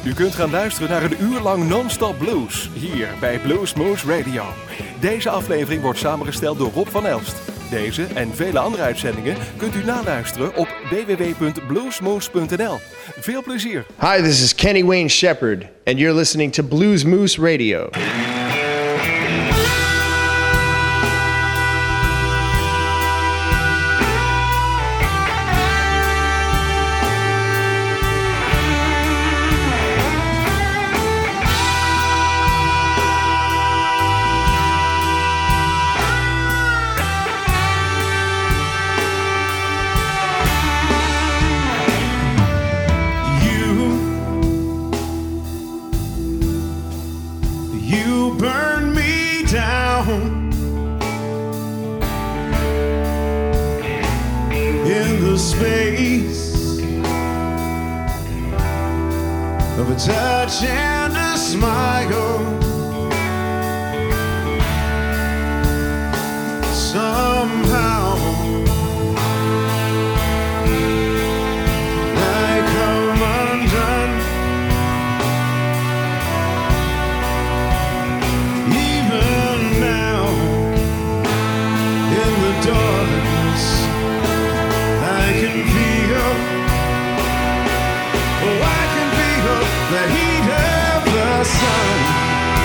U kunt gaan luisteren naar een uur lang non-stop blues, hier bij Blues Moose Radio. Deze aflevering wordt samengesteld door Rob van Elst. Deze en vele andere uitzendingen kunt u naluisteren op www.bluesmoose.nl. Veel plezier. Hi, this is Kenny Wayne Shepherd, and you're listening to Blues Moose Radio. Of a touch and a smile, somehow I come undone. Even now, in the darkness, I can feel. Oh, I can feel the heat of the sun.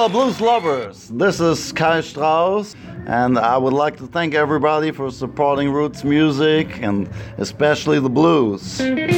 Hello, blues lovers. This is Kai Strauss, and I would like to thank everybody for supporting roots music and especially the blues.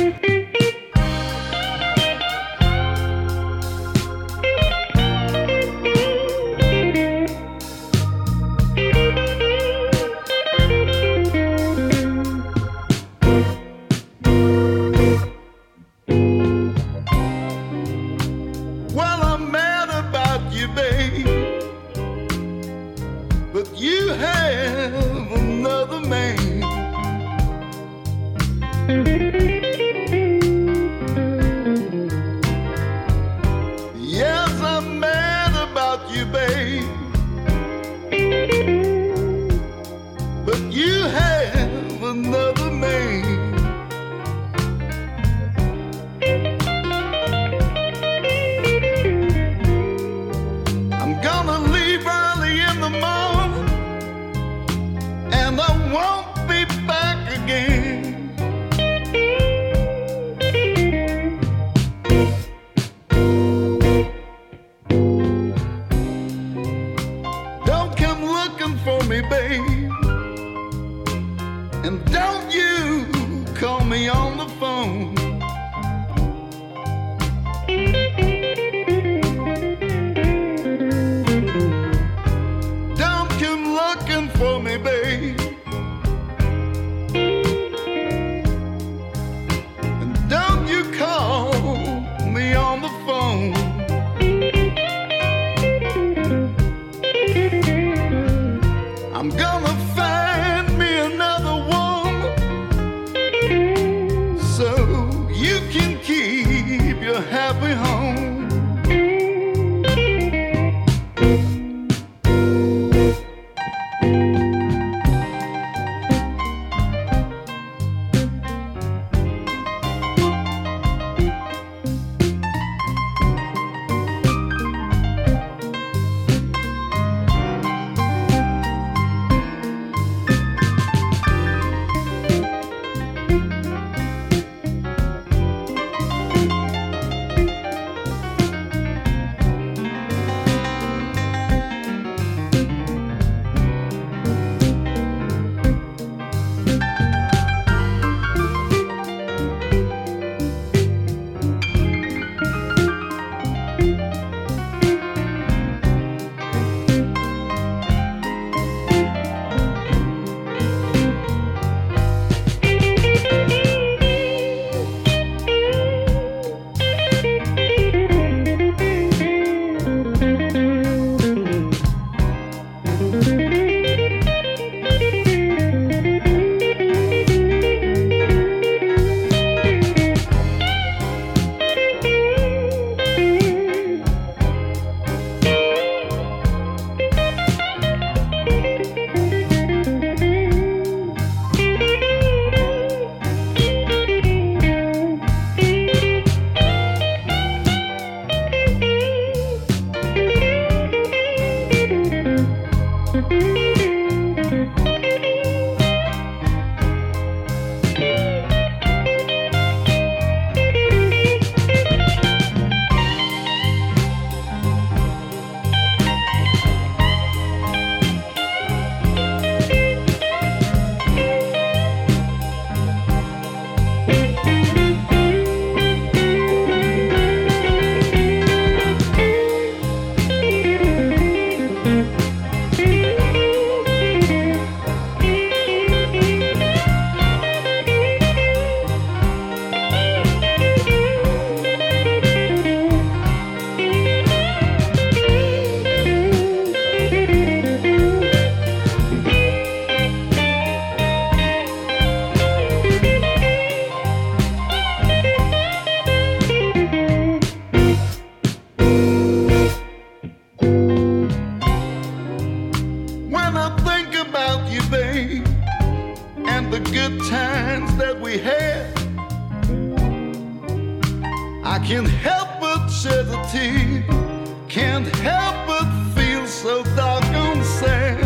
Can't help but shed a tear. Can't help but feel so doggone sad.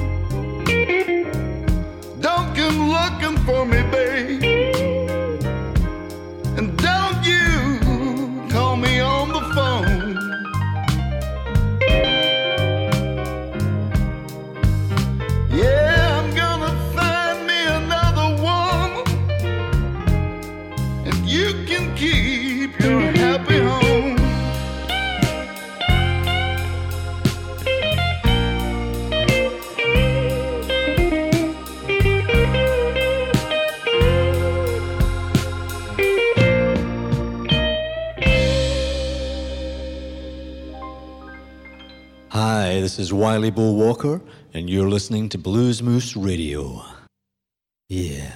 Don't come looking for me, babe. And don't you call me on the phone. is Wiley Bull Walker, and you're listening to Blues Moose Radio. Yeah.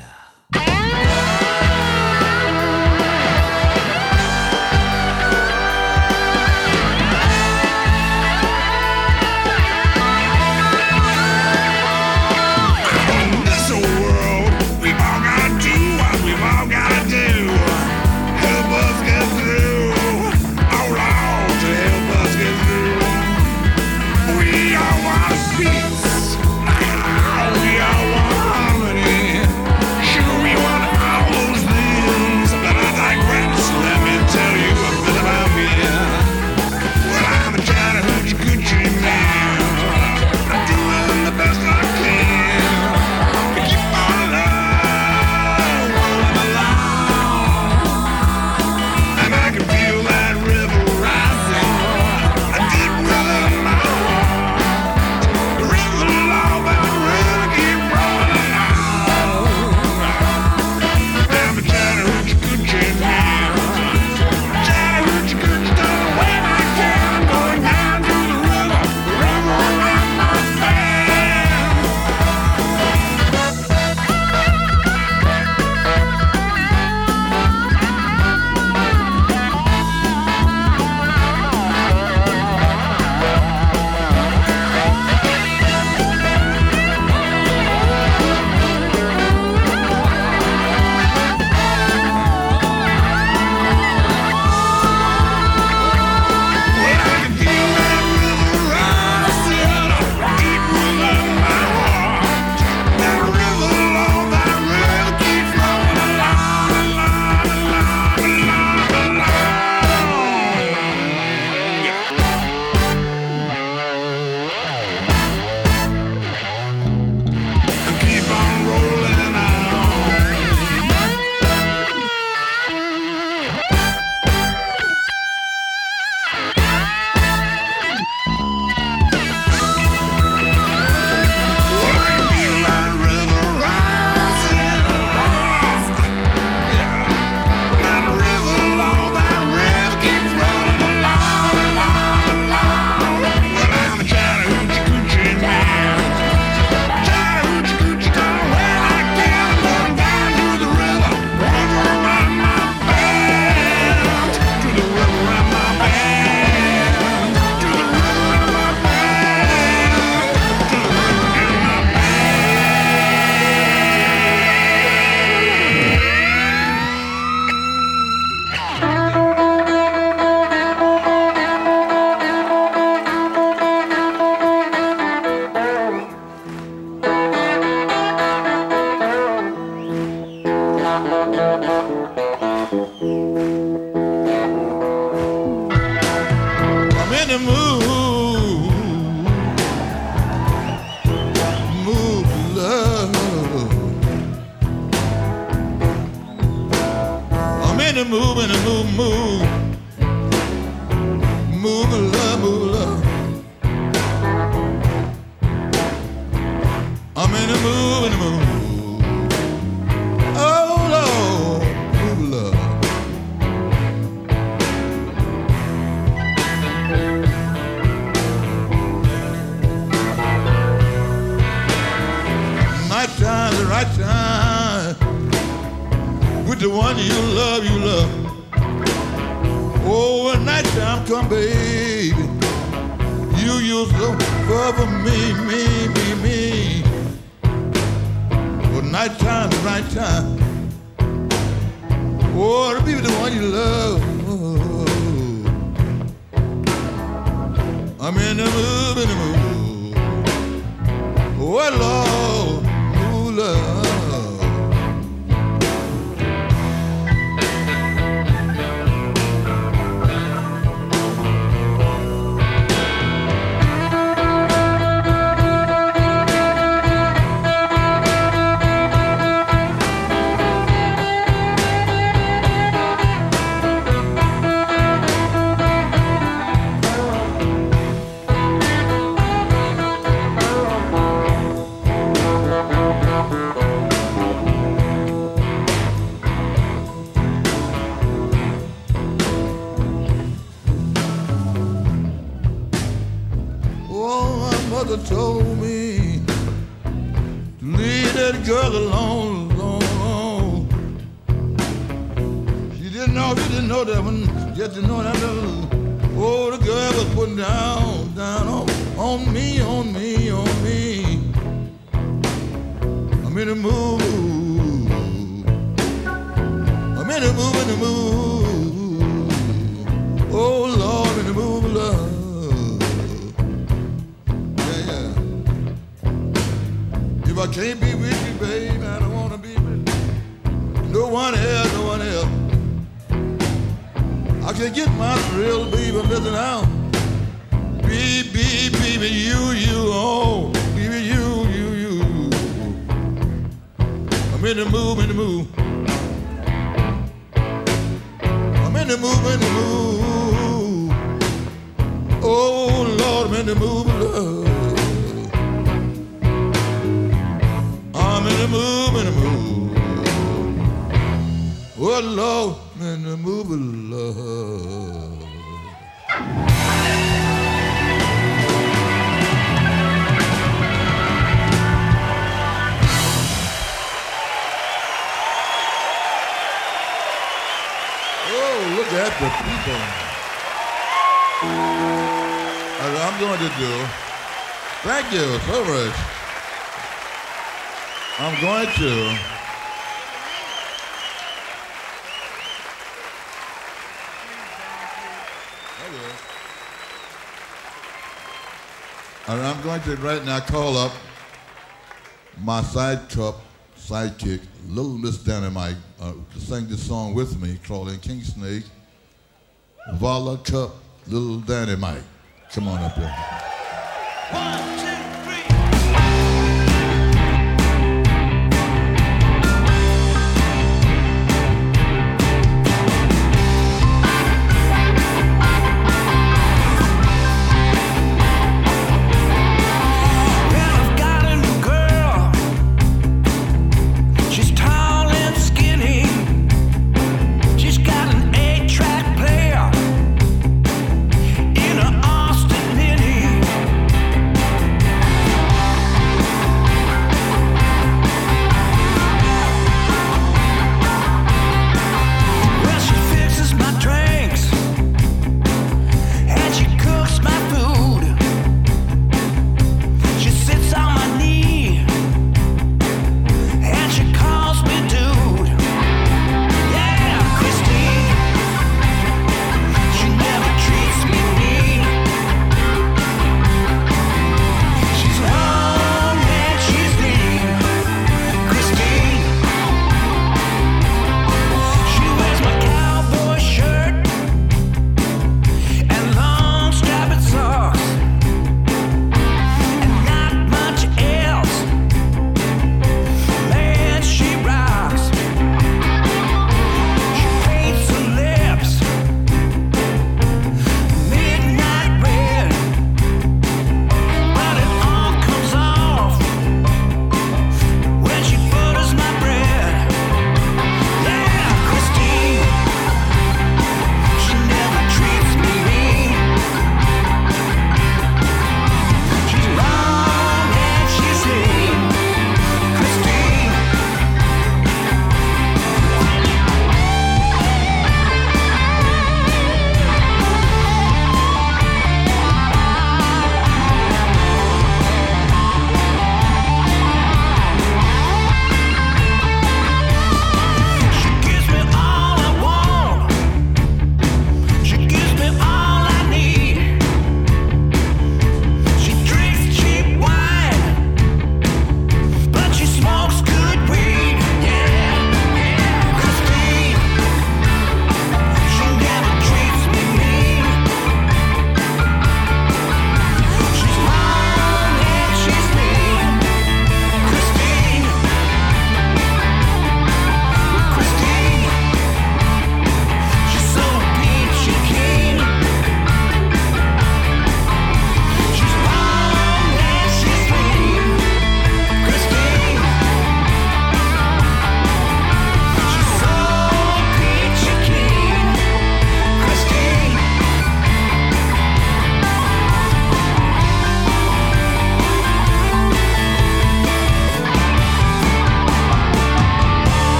the girl alone, alone. She didn't know that one. Just to know that oh, the girl was putting down on me. I'm in the mood. I'm in the mood. Oh Lord, I'm in the mood of love. Yeah. If I can't be with you, babe, I don't wanna be with no one else. I can get my thrill, baby, listen out. Baby, you, oh, baby, you. I'm in the mood. I'm in the mood. Oh, Lord, I'm in the mood of love. I'm in the mood. Oh, Lord, I'm in the mood of love. Look at the people. As I'm going to do, thank you so much. I'm going to and I'm going to right now call up my sidekick, Little Miss Dynamite, to sing this song with me, Claudine Kingsnake, Vala Cup, Little Dynamite. Come on up there. 1, 2, 3. In a Austin Mini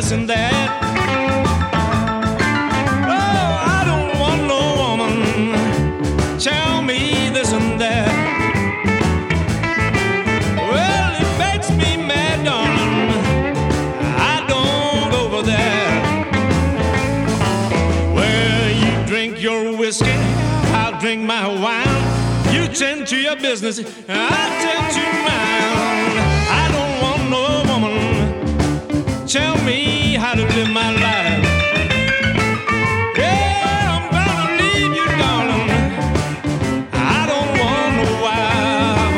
this and that. Oh, I don't want no woman tell me this and that. Well, it makes me mad, darling. I don't go for that. Well, you drink your whiskey, I'll drink my wine. You tend to your business, I'll tend to mine. I don't want no woman tell me how to live my life. Yeah, I'm gonna leave you, darling. I don't want no wife.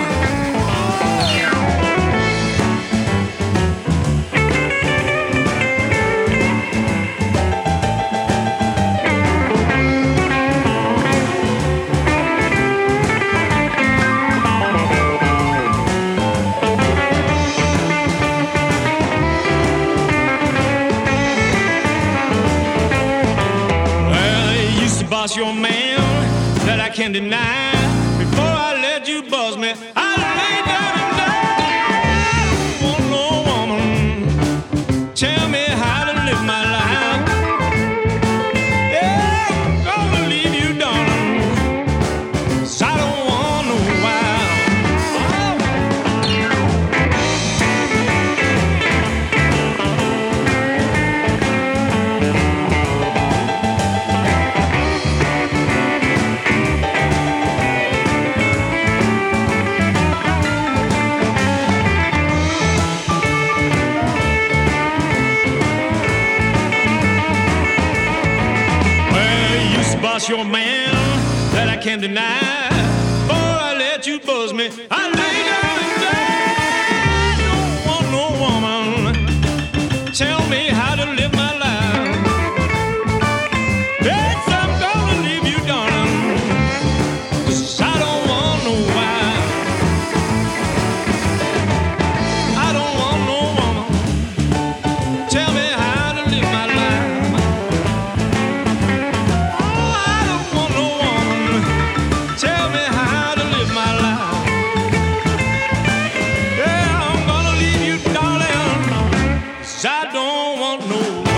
Boss your man that I can't deny. Before I let you buzz me, I lay down and die. I don't want no woman tell me how to live my life. Yeah, I'm gonna leave you, darling, 'cause I don't want no wife. Boss your man that I can't deny. Before I let you buzz me, I lay down and die. Don't want no woman tell me how to live my life. Yes, I'm gonna leave you, darling, 'cause I don't want no wife. I don't want no woman tell me how to live my life. Tell me how to live my life. Yeah, I'm gonna leave you, darling, 'cause I don't want no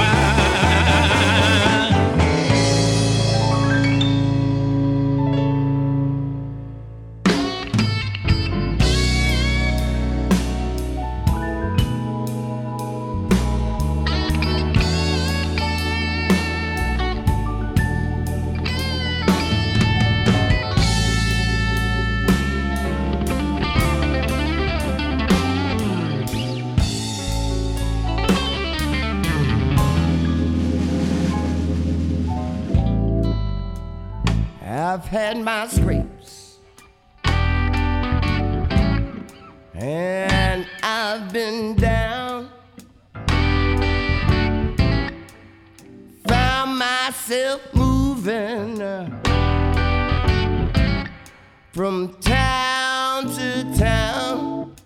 I've had my scrapes and I've been down, found myself moving from town to town.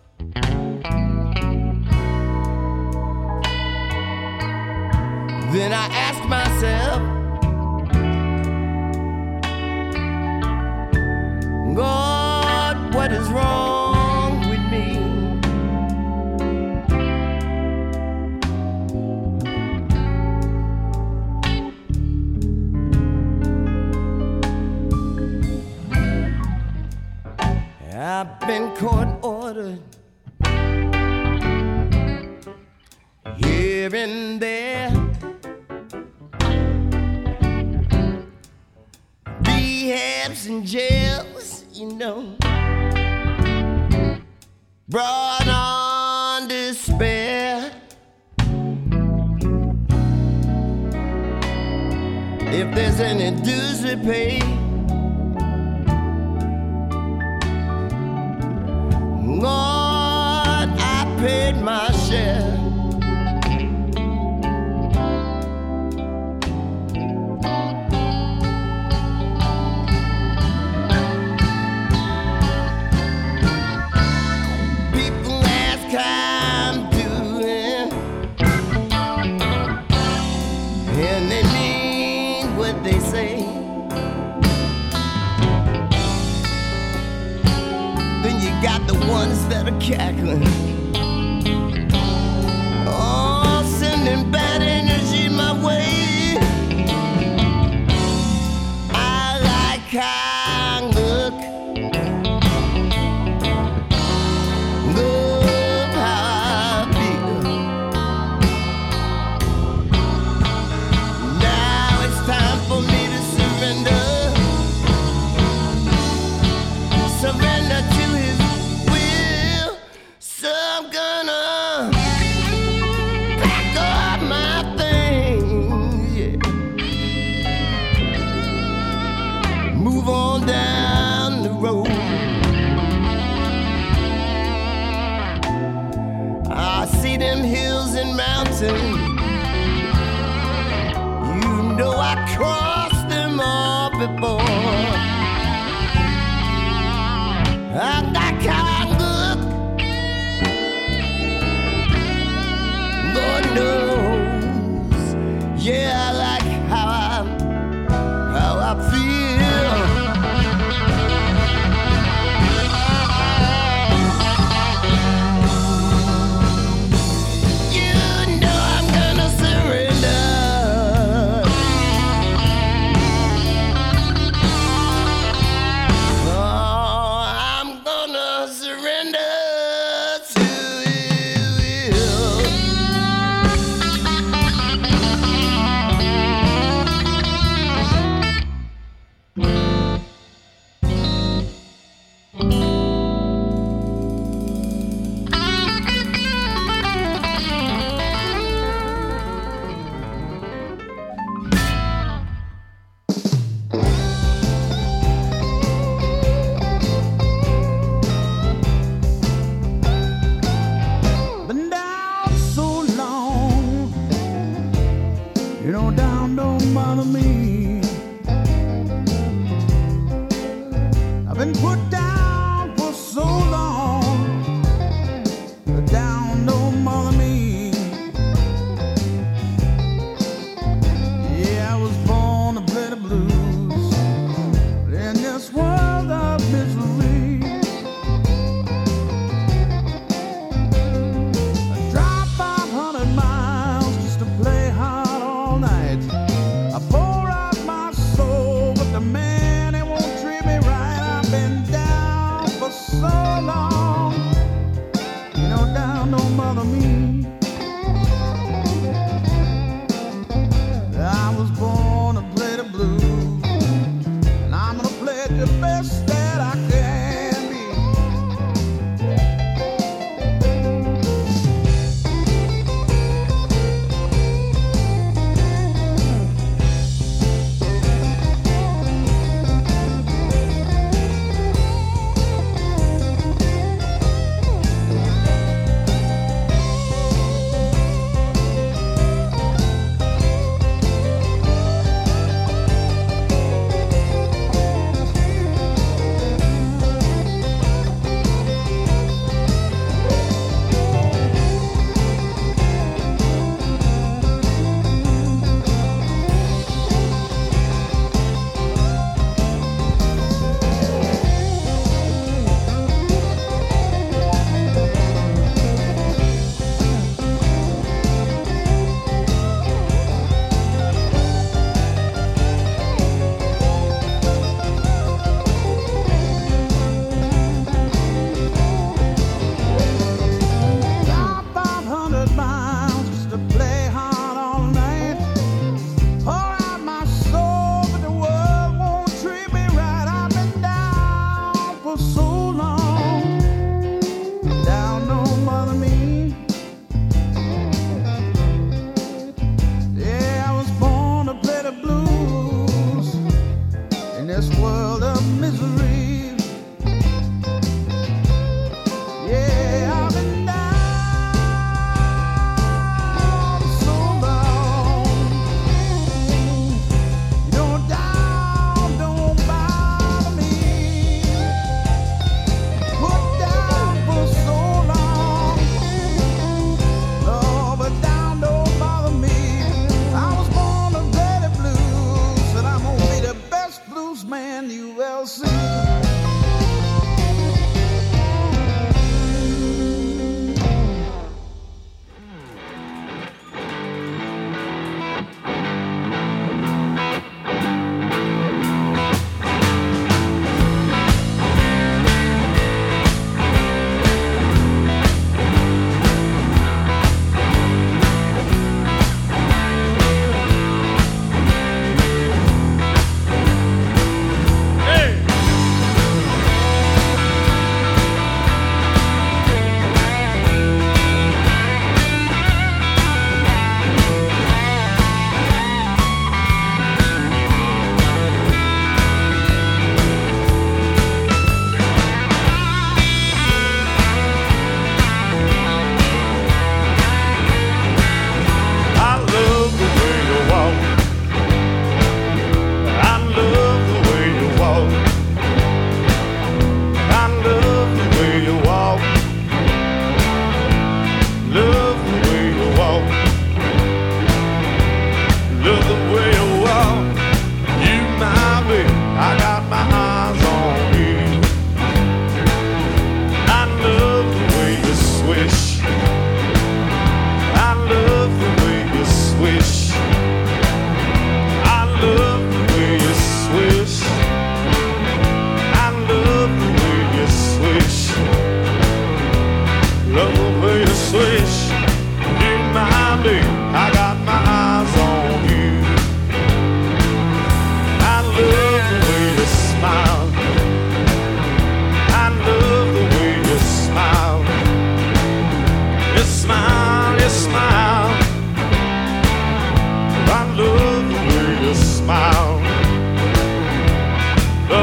Then I ask myself, God, what is wrong with me? I've been court ordered here and there, rehabs and jails, you know, brought on despair. If there's any dues we pay, Lord, I paid my share. Ones that are cackling, oh, sending bad move on down the road. I see them hills and mountains, you know I crossed them all before. I like how I look, Lord knows, yeah, I like how I feel. You know I'm gonna surrender. Oh, I'm gonna surrender to you. Been down so long, you know, down don't bother me. I've been put down for so long, the down don't bother me. Yeah, I was born to play the blues, but in this world of misery, I drive 500 miles just to play hard all night. I pour out my soul, but the man, he won't treat me right. I've been down for so long, you know, down don't bother me. I was born to play the blues, and I'm gonna play it the best that I can be. Drive 500 miles just to play hard all night. Pour out my soul, but the world won't treat me right. I've been down for so long, down don't bother me. Yeah, I was born to play the blues in this world of misery. Yeah, I've been down so long, you know, down don't bother me. Put down for so long, Lord, but down don't bother me. I was born to play the blues, and I'm gonna be the best blues man you ever see. Hey!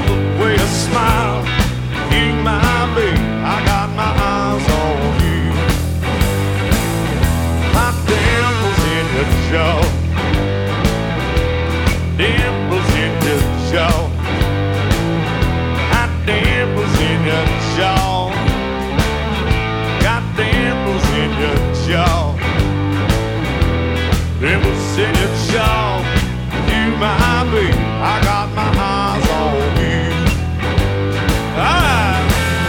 Love the way you smile. You, my baby, I got my eyes on you. My dimples in your jaw. Dimples in your jaw. Hot dimples in your jaw. Got dimples in your jaw. Dimples in your jaw. You, my baby, I got my eyes on you. Ah.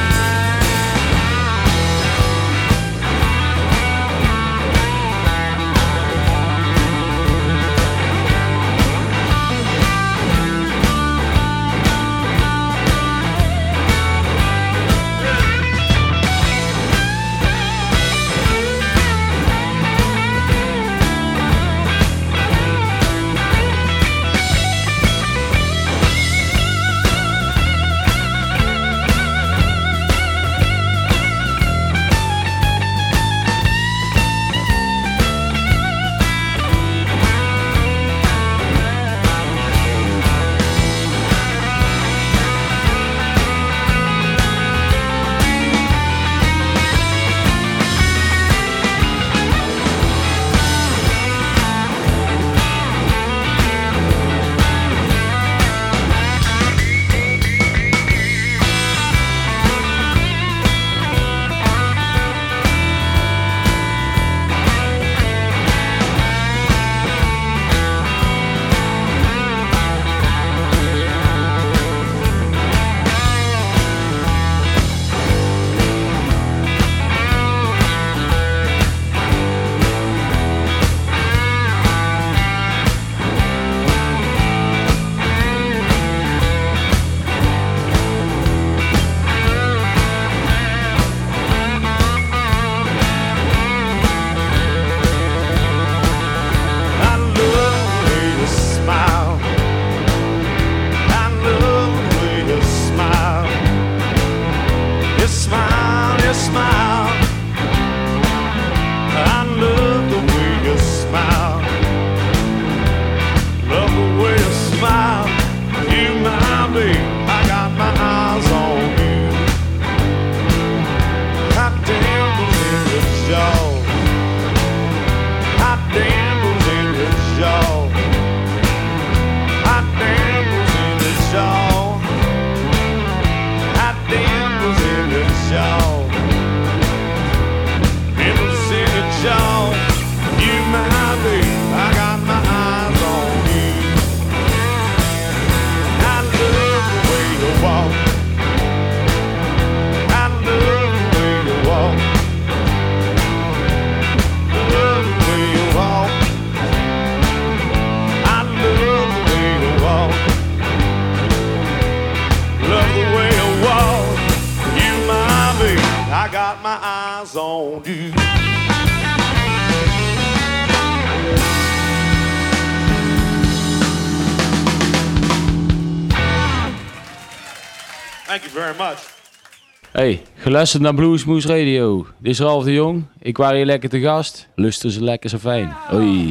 Thank you very much. Hey, geluisterd naar Bluesmoose Radio. Dit is Ralf de Jong. Ik was hier lekker te gast. Lusten ze lekker zo fijn. Hoi.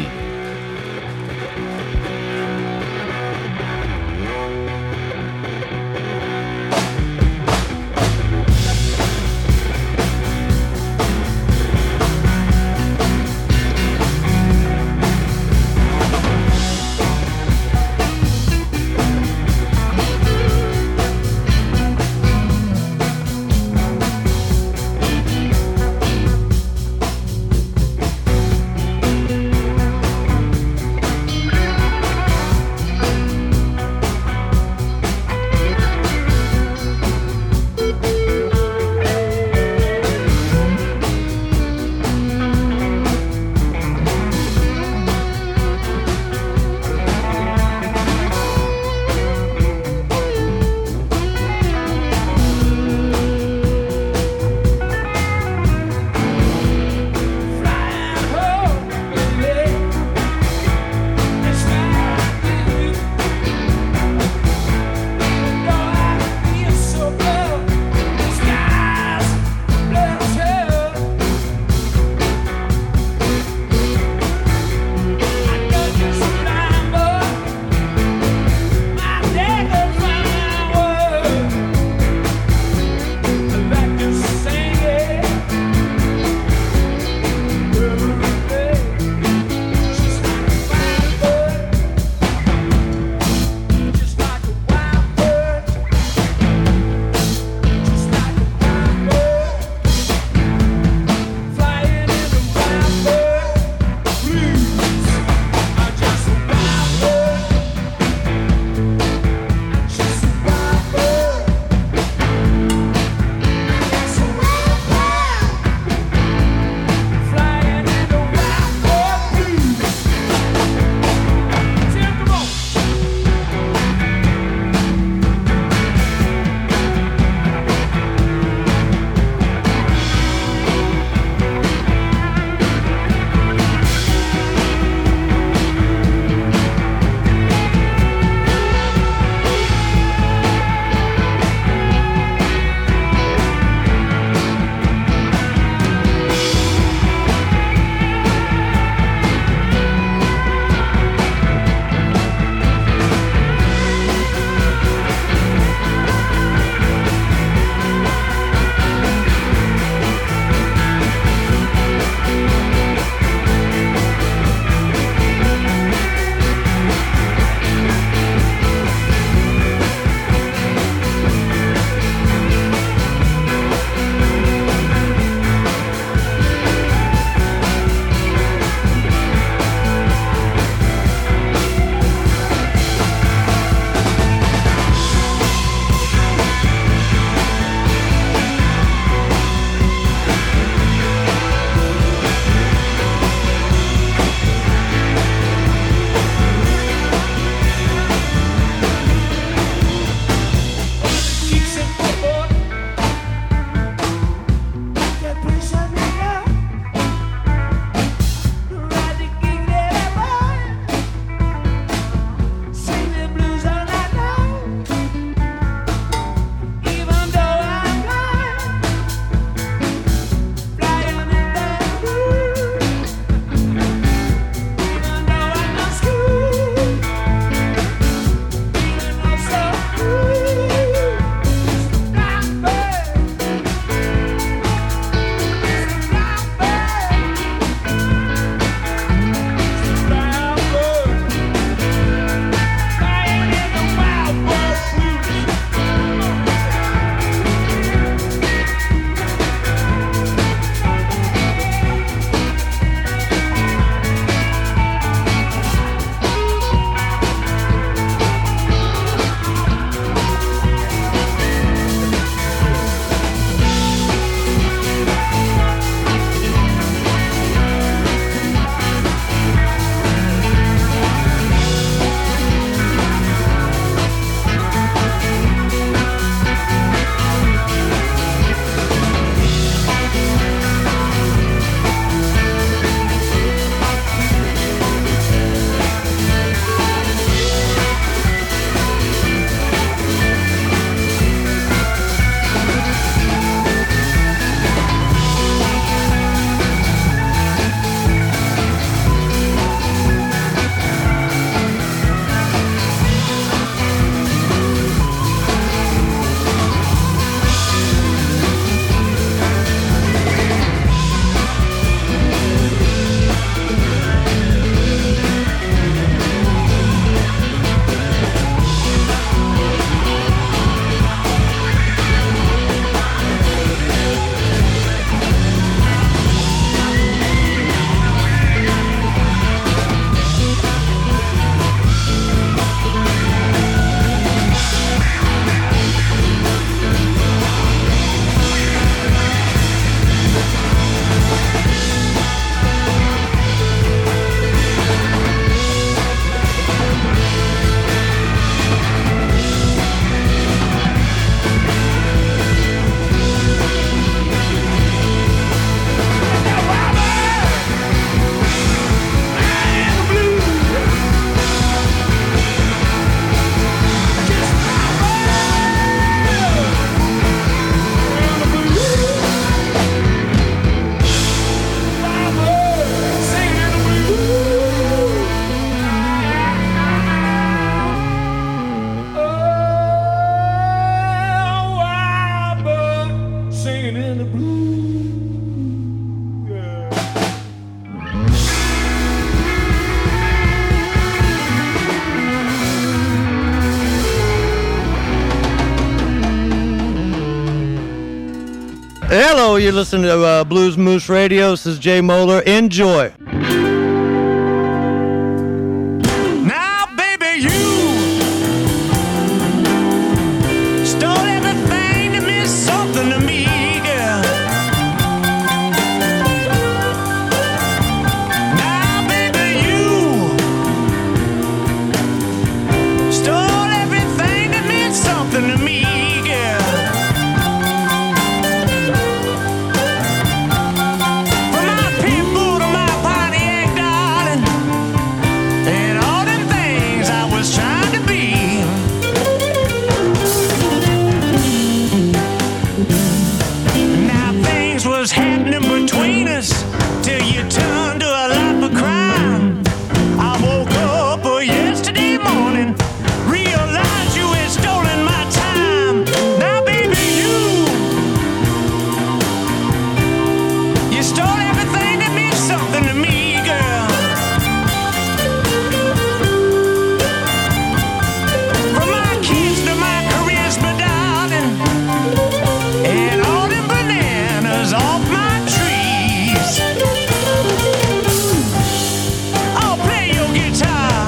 Hello, you're listening to Blues Moose Radio. This is Jay Moeller. Enjoy. Now, baby, you stole everything that meant something to me, girl. Now, baby, you stole everything that meant something to me, girl. From my people to my Pontiac, darling, and all them things I was trying to be. Now things was happening between us till you turned to a life of crime. I woke up yesterday morning, realized you had stolen my time. Now, baby, you stole everything that meant something to me, girl. From my kids to my charisma, darling, and all them bananas off my trees. Oh, play your guitar.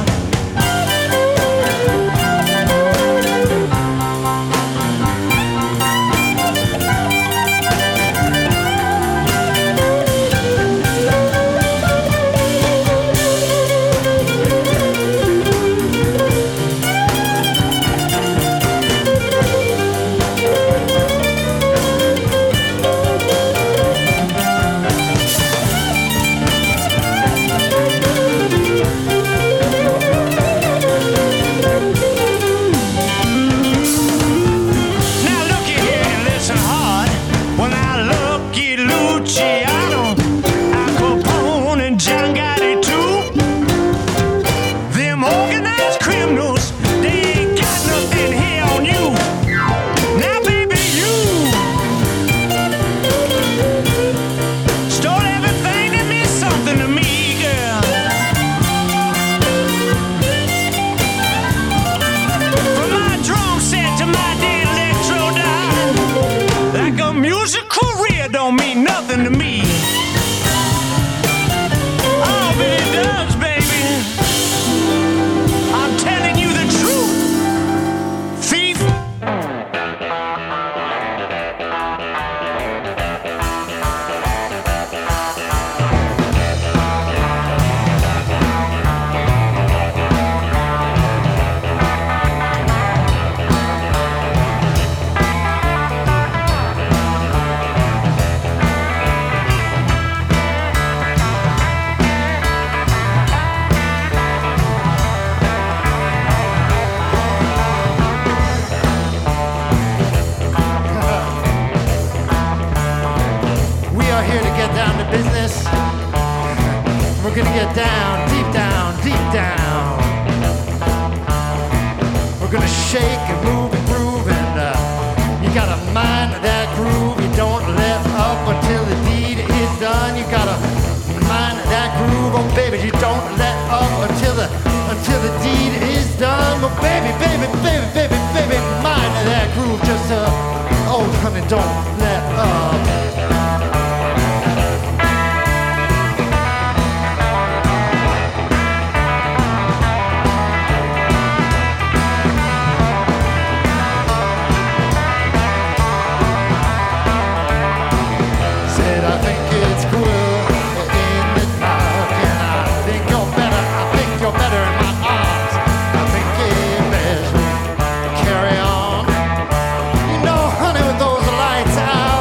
Now look here and listen hard. When I look at Luciano, Al Capone and John Gotti too, them organized criminals, they ain't got nothing here on you. Now, baby, you stole everything that meant something to me, girl. From my drum set to my dead electro dime, like a music career don't mean nothing to me. Oh, but it does, baby. I'm telling you the truth, thief. We are here to get down to business. We're gonna get down, deep down, deep down. We're gonna shake and move and groove, and you gotta mind that groove. You don't let up until the deed is done. You gotta mind that groove, oh baby. You don't let up until the deed is done. But baby, baby, baby, baby, baby, mind that groove. Just oh honey, don't let up. Said I think it's cruel in the dark, and I think you're better. I think you're better in my arms. I think it best we carry on. You know, honey, with those lights out.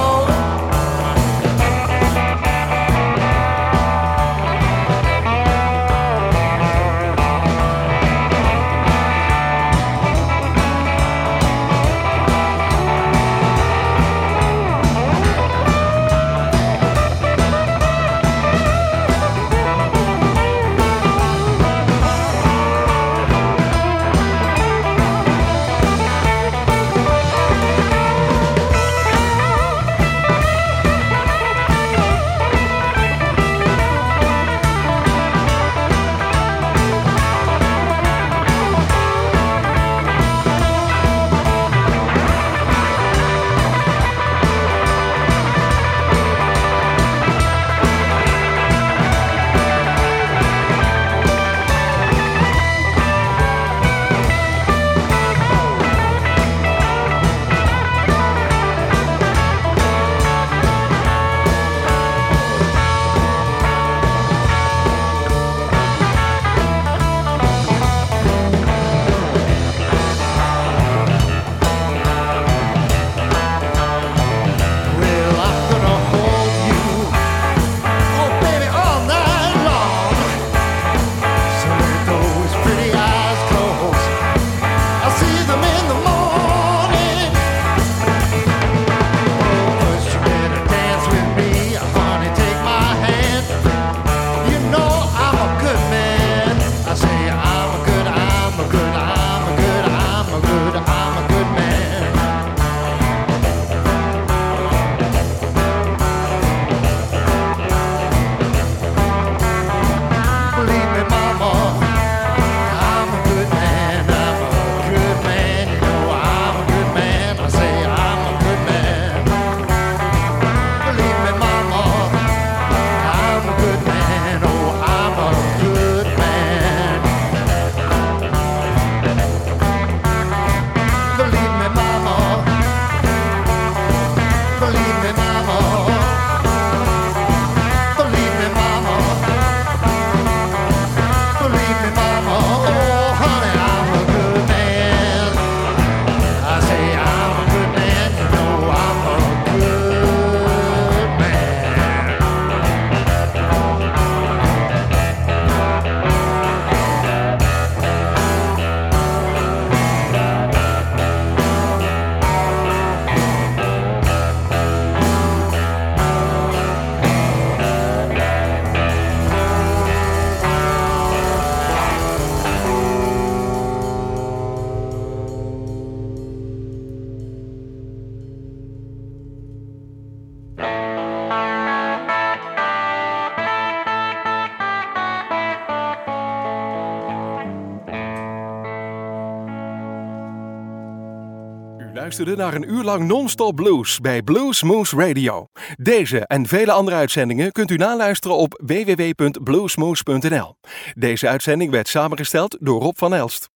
Luisterde naar een uur lang non-stop blues bij Blues Moose Radio. Deze en vele andere uitzendingen kunt u naluisteren op www.bluesmoose.nl. Deze uitzending werd samengesteld door Rob van Elst.